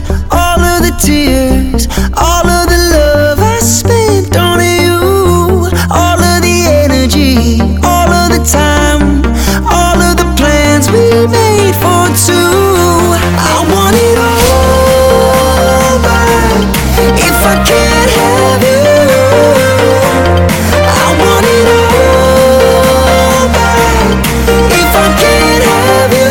all of the tears, all of the love I spent on you, all of the energy, all of the time, all of the plans we made for two. I want it all back if I can't have you. I want it all back if I can't have you.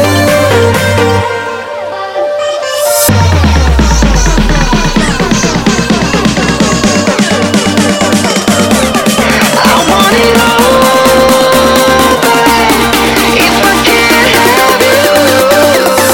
I want it all back if I can't have you.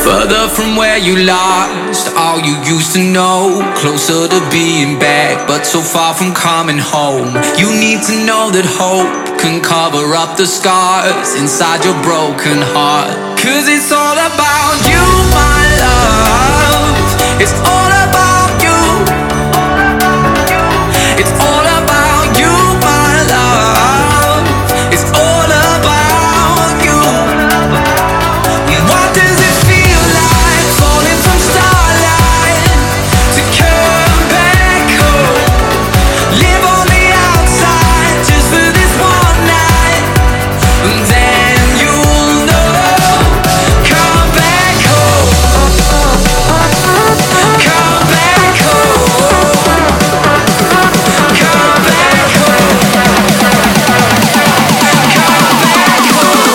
Further from where you lost all you used to know, closer to being back, but so far from coming home. You need to know that hope can cover up the scars inside your broken heart. 'Cause it's all about you, my love. It's all about you. It's all about you, my love. It's all about you. What does it feel like falling from starlight to come back home? Live on the outside just for this one night, and then you'll know. Come back home. Come back home. Come back home. Come back home.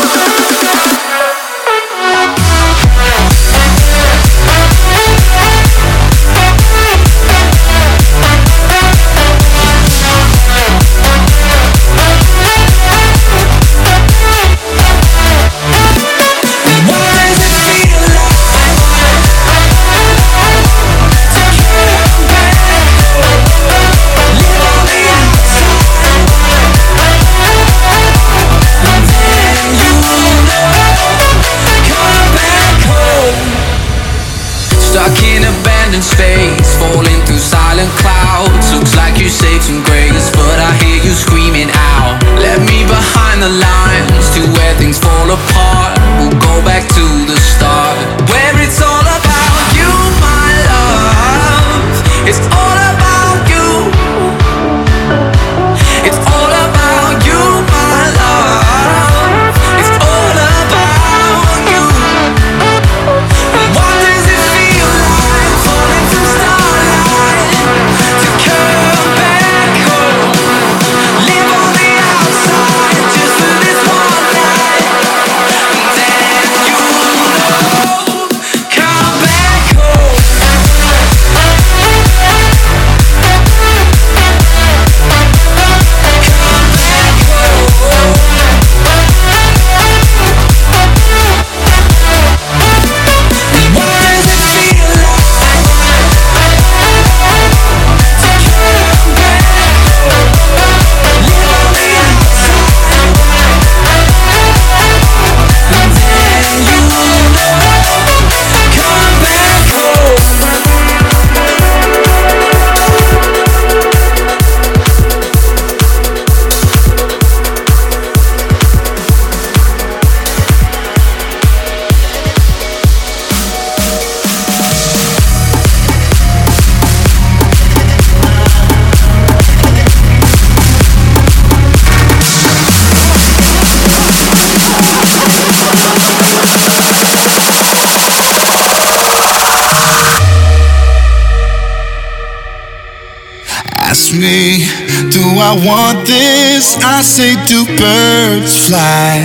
What does it feel like to come back home? Live on the outside, and then you'll know. Come back home. Stuck in abandoned space, falling through silent clouds. Looks like you saved some grace, but I hear you screaming out. Let me behind the lines to where things fall apart. We'll go back to the start, where it's all about you, my love. It's all about you. It's all about you, my love. It's all about you. What does it feel like falling from starlight to come back home? Live on the outside just for this one night, and then you'll know. Come back home. Come back home. What does it feel like to come back home? Live on the outside, and then you'll know. Come back home. Ask me, do I want this? I say, do birds fly?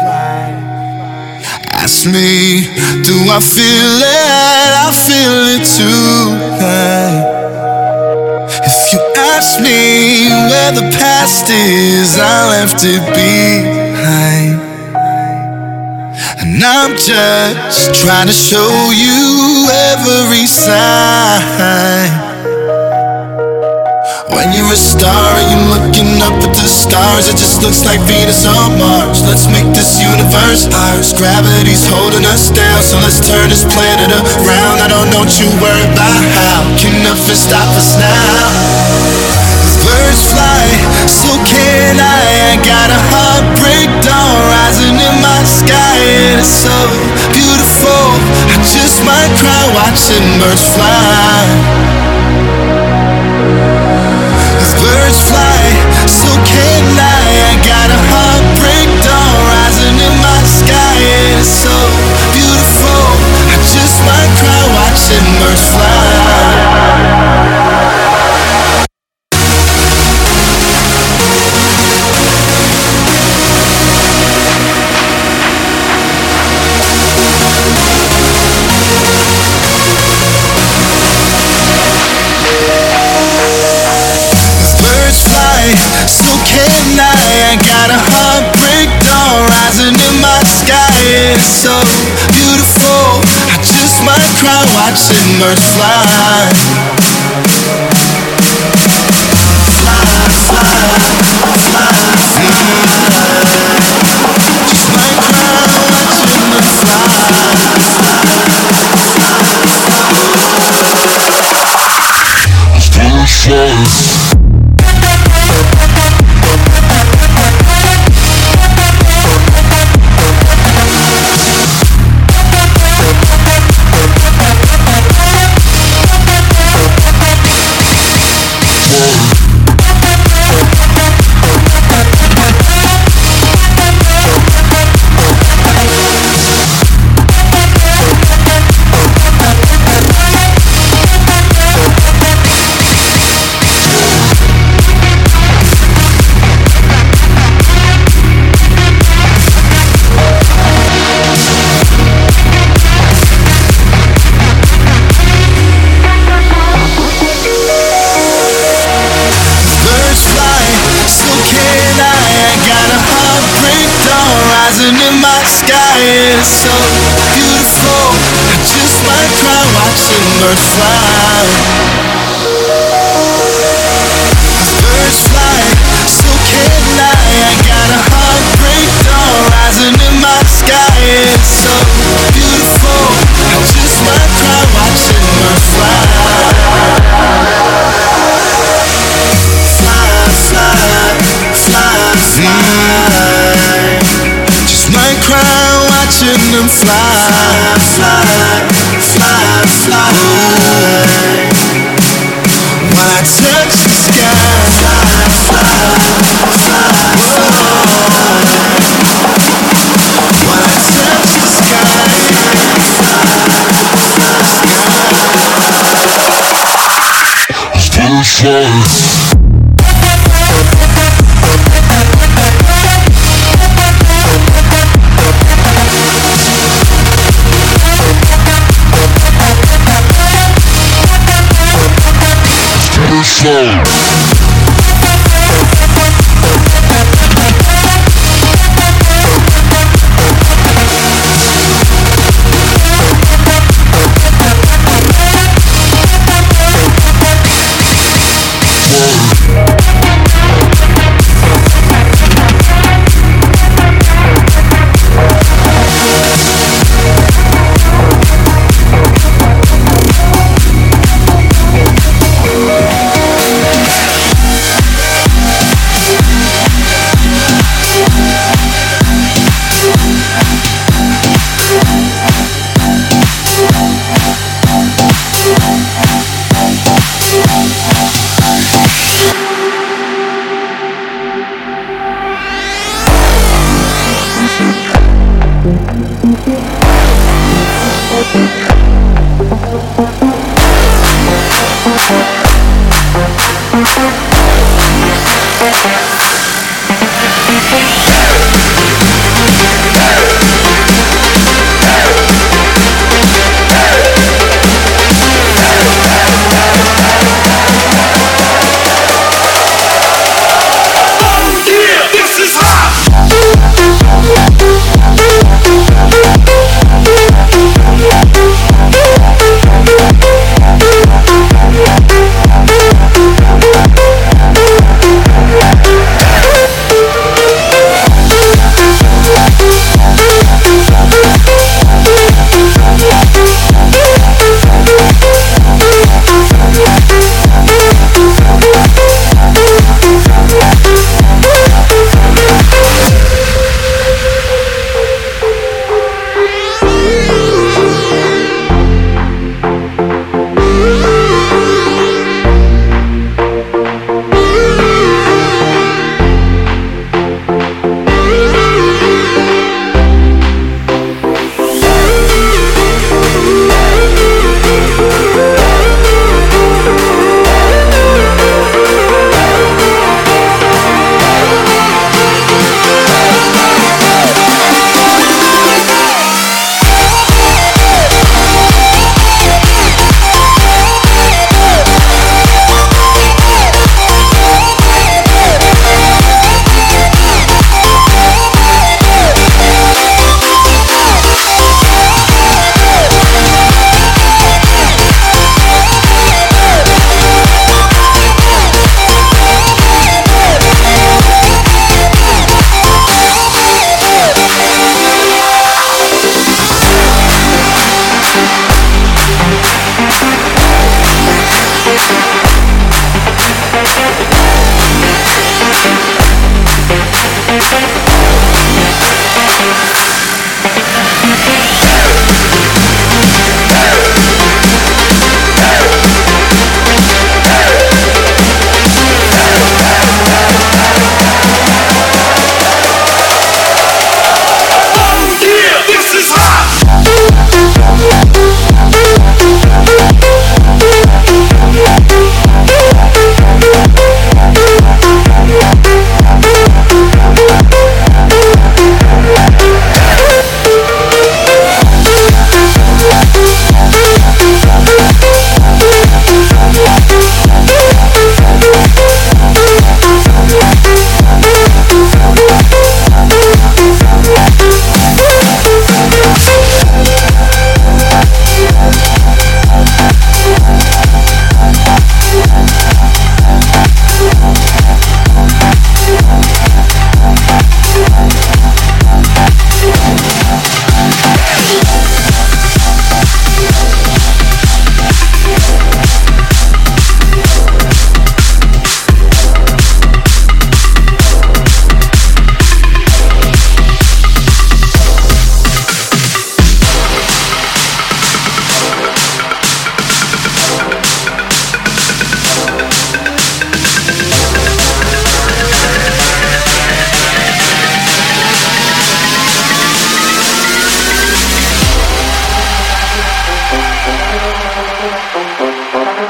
Ask me, do I feel it? I feel it tonight. If you ask me where the past is, I left it behind. And I'm just trying to show you every sign. When you're a star and you're looking up at the stars, it just looks like Venus on Mars. Let's make this universe ours. Gravity's holding us down, so let's turn this planet around. I don't know what you worry about how. Can nothing stop us now? As birds fly, so can I. I got a heartbreak dawn rising in my sky, and it's so beautiful. I just might cry watching birds fly. Birds fly, so can I. I got a heartbreak dawn rising in my sky, and it's so beautiful. I just might cry watching birds fly. beautiful. I just might cry watching birds fly. Fly, fly, fly, fly. Just might cry watching them fly. In my sky is so beautiful. I just might cry watching birds fly. As birds fly, so can I got a heartbreak dawn rising in my sky is so beautiful. I just might cry watching birds fly. Fly, fly, fly, fly. Might cry watching them fly, fly, fly, fly. While I touch the sky, fly, fly, fly, fly. While I touch the sky, fly, fly. Slow.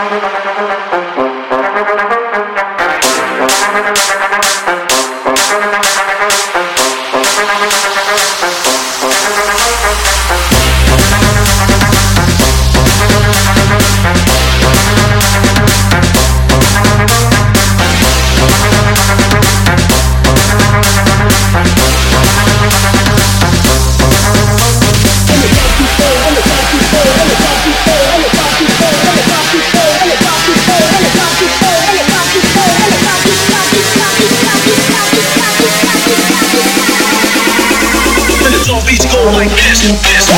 Like this.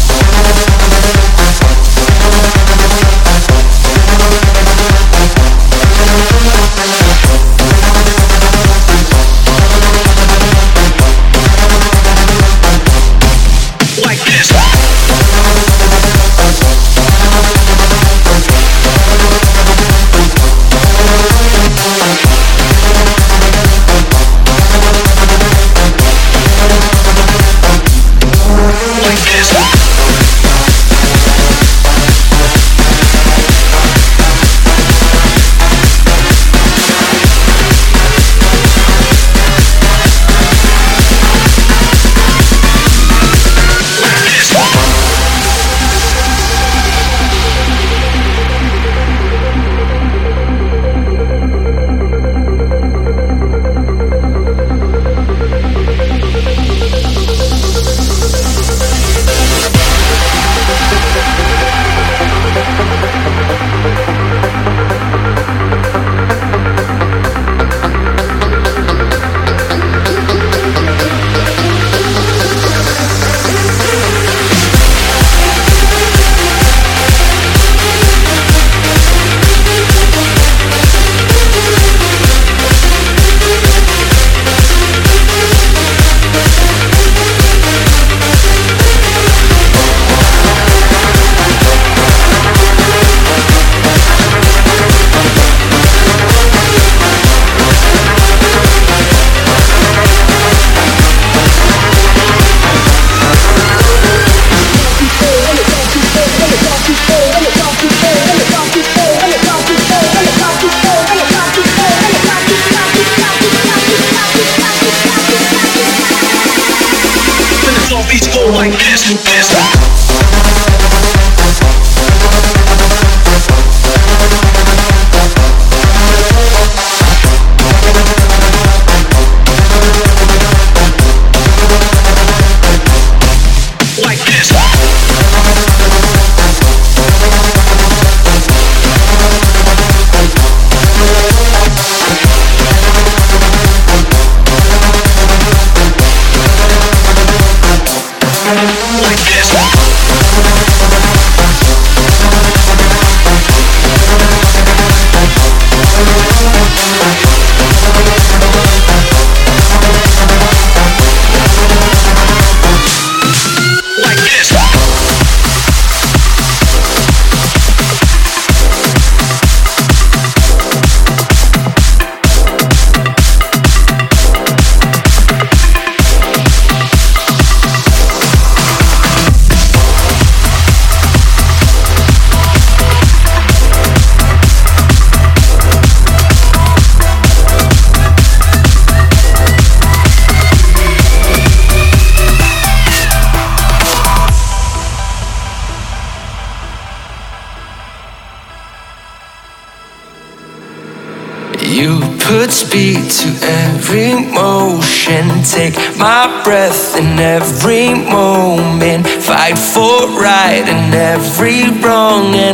You put speed to every motion, take my breath in every moment, fight for right in every wrong, and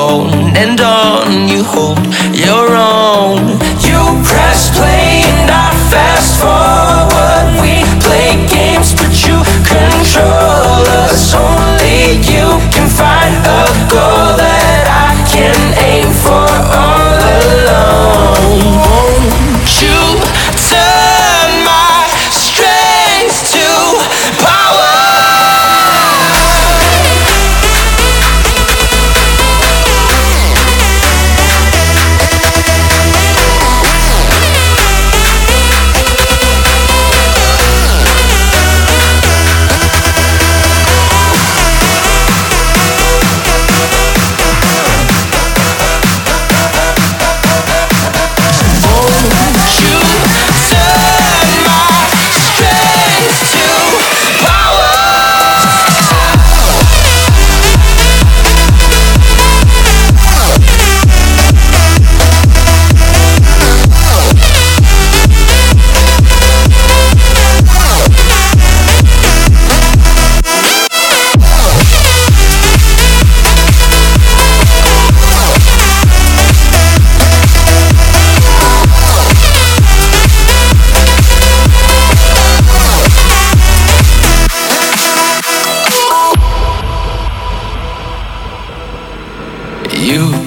on you hold your own. You press play and I fast forward. We play games but you control us. Only you can find a goal that I can aim for all alone. Won't you turn my strength to power?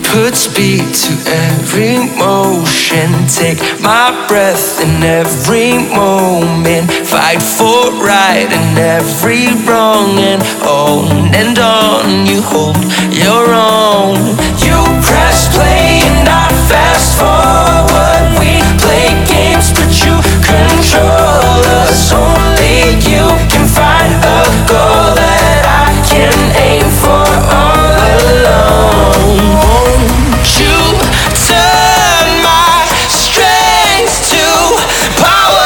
Put speed to every motion. Take my breath in every moment. Fight for right in every wrong. And on you hold your own. You press play and I fast forward. We play games but you control us. Only you can find a goal that I can aim for all alone. Won't you turn my strength to power?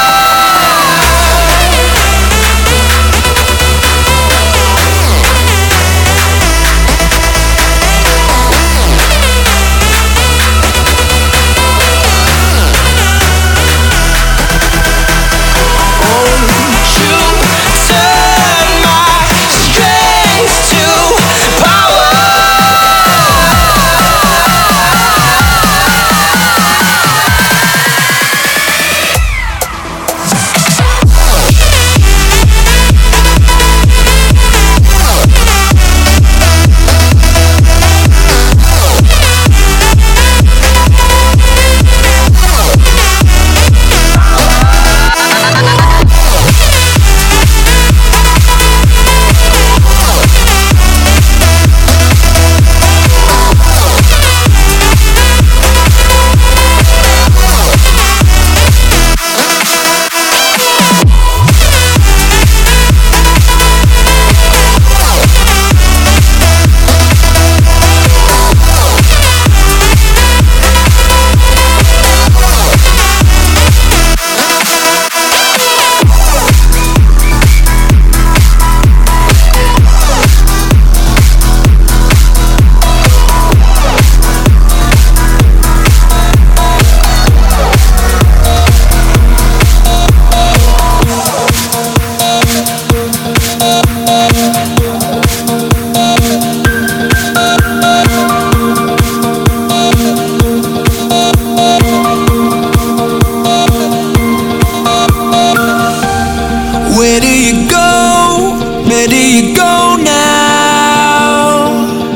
Where do you go now?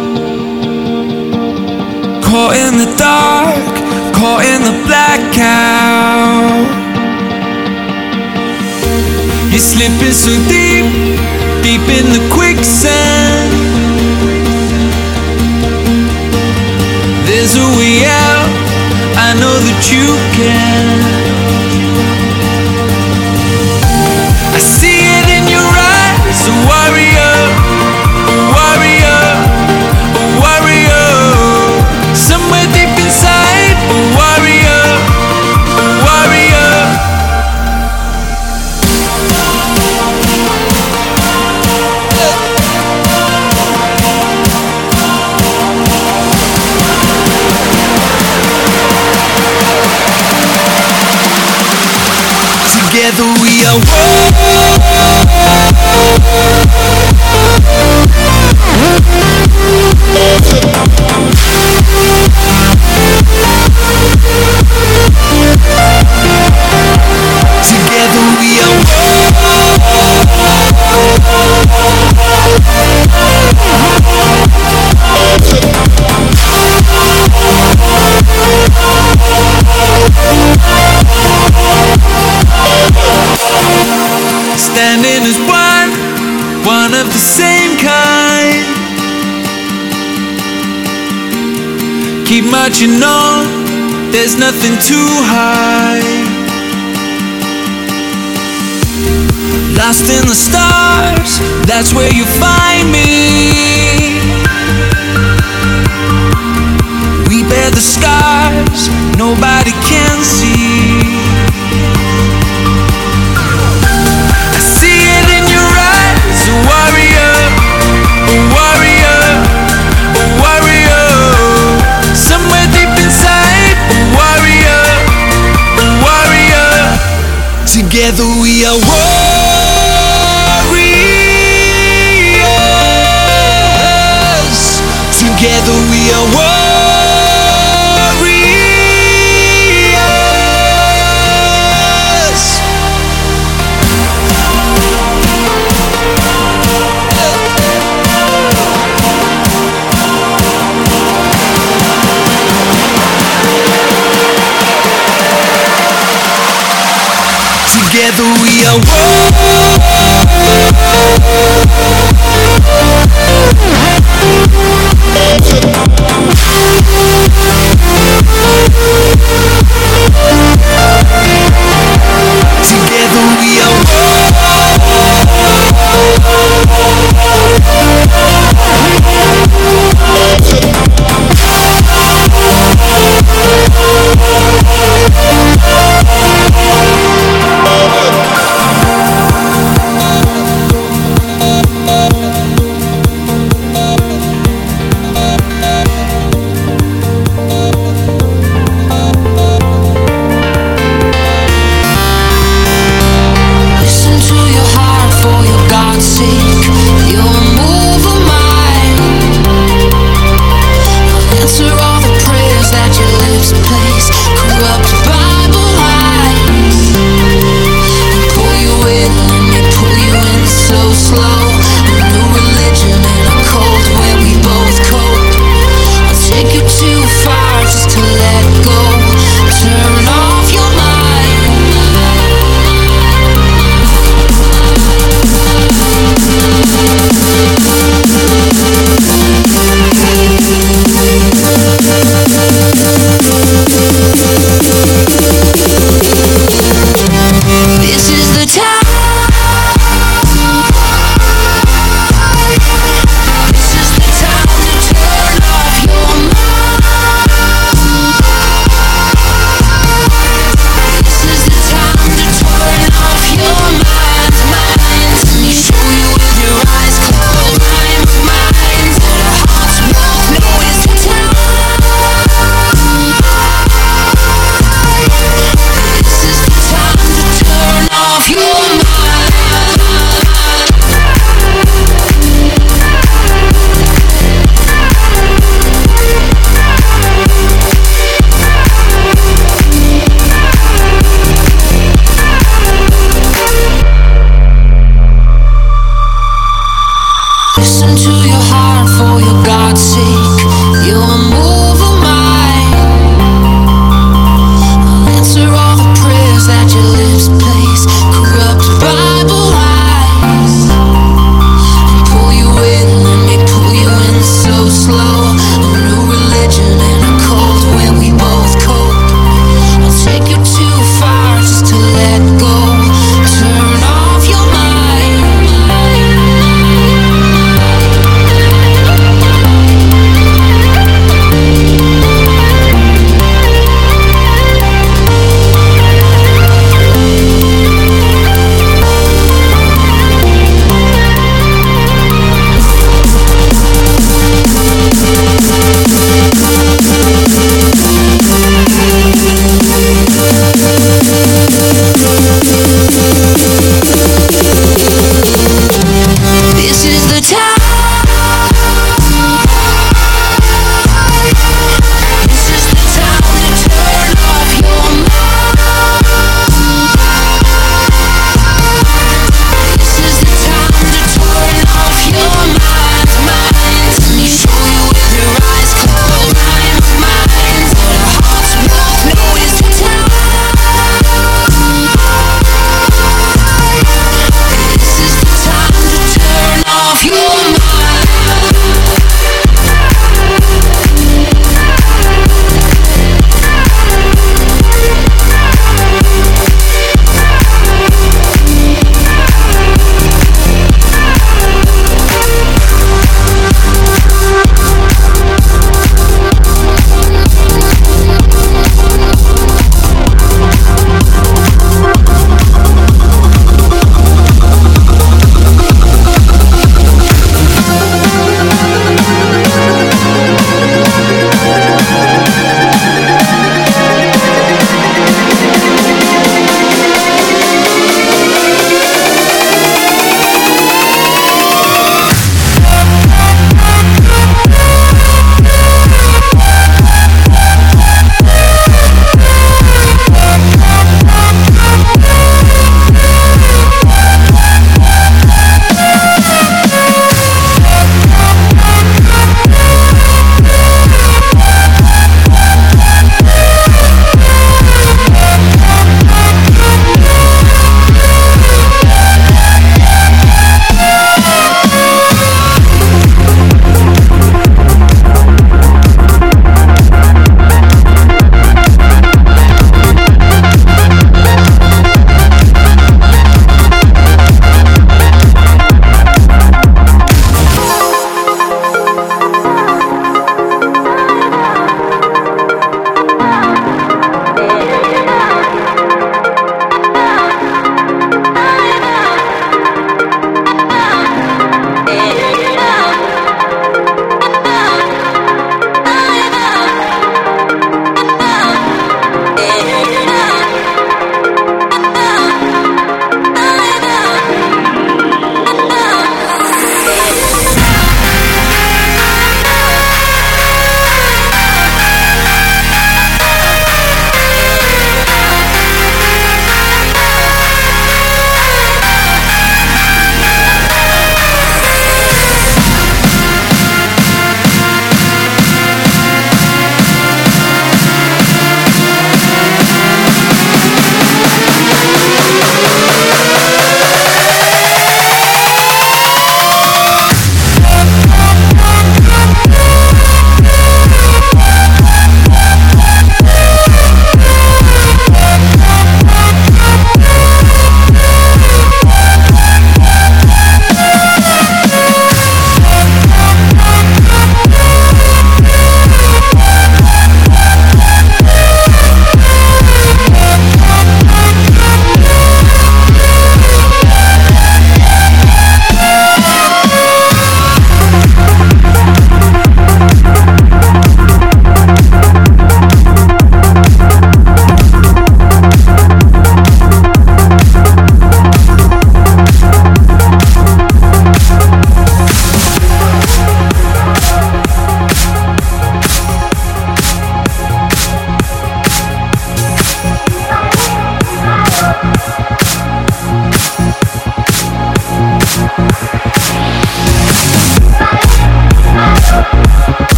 Caught in the dark, caught in the blackout. You're slipping so deep, deep in the quicksand. There's a way out, I know that you can. I see it in your eyes, a warrior, a warrior, a warrior. Somewhere deep inside, a warrior, a warrior. Together we are one. Together we are standing as one of the same kind. Keep marching on, there's nothing too high. Lost in the stars, that's where you find me. We bear the scars, nobody can see. I see it in your eyes, a warrior, a warrior, a warrior. Somewhere deep inside, a warrior, a warrior. Together we are warriors. Together we are warriors. Together we are Together we are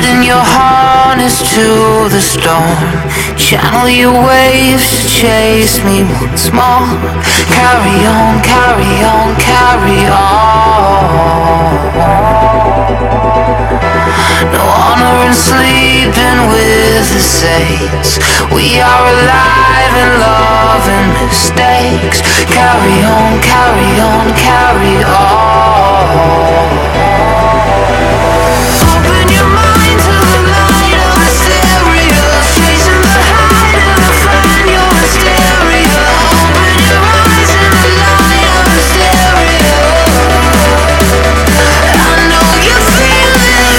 Adding your harness to the storm. Channel your waves to chase me once more. Carry on, carry on, carry on. No honor in sleeping with the saints. We are alive in love and mistakes. Carry on, carry on, carry on. Open your mind to the light of the stereo. Chasing the high to find your hysteria. Open your eyes in the light of the stereo. I know you feel it.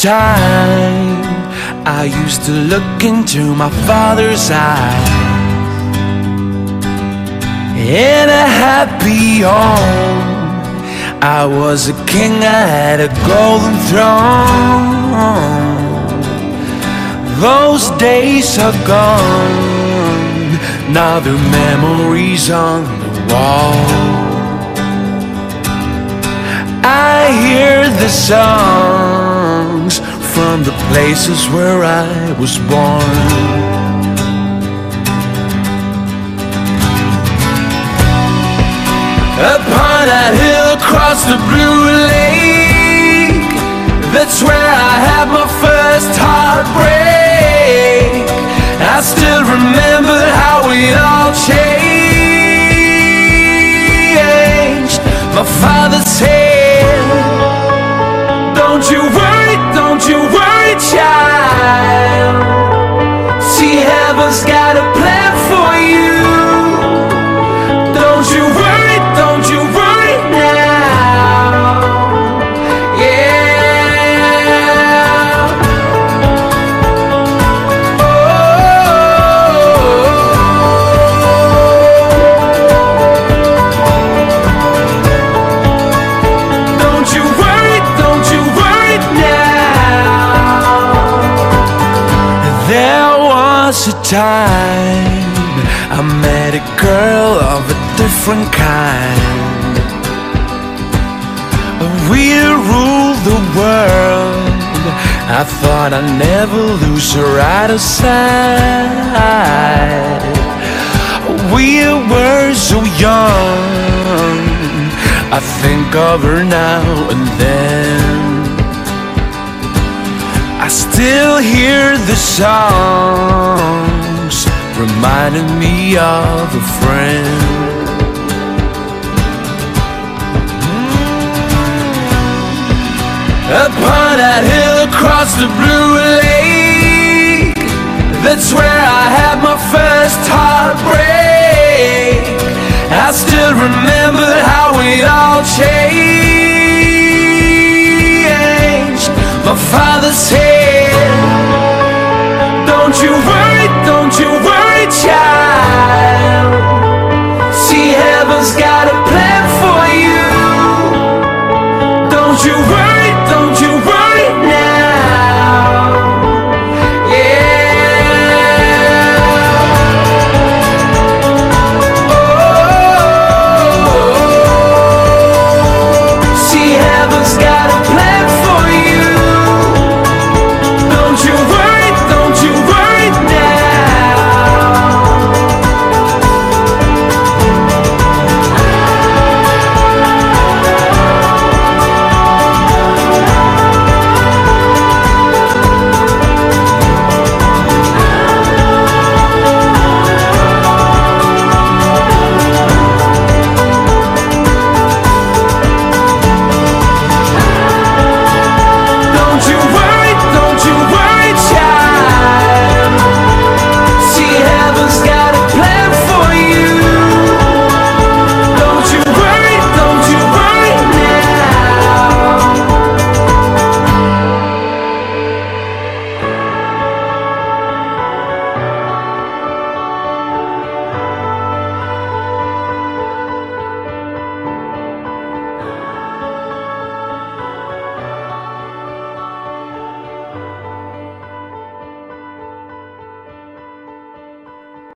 time I used to look into my father's eyes. In a happy home, I was a king, I had a golden throne. Those days are gone, now they're memories on the wall. I hear the songs from the places where I was born. Upon that hill across the blue lake, that's where I had my first heartbreak. I still remember how it all changed. My father said, don't you worry, child. See, heaven's got a plan for you. Don't you worry now. Yeah. Don't you worry now. There was a time I met a girl of a different kind. We'll rule the world. I thought I'd never lose her out of sight. We were so young, I think of her now and then. I still hear the songs reminding me of a friend. Upon that hill across the blue lake, that's where I had my first heart.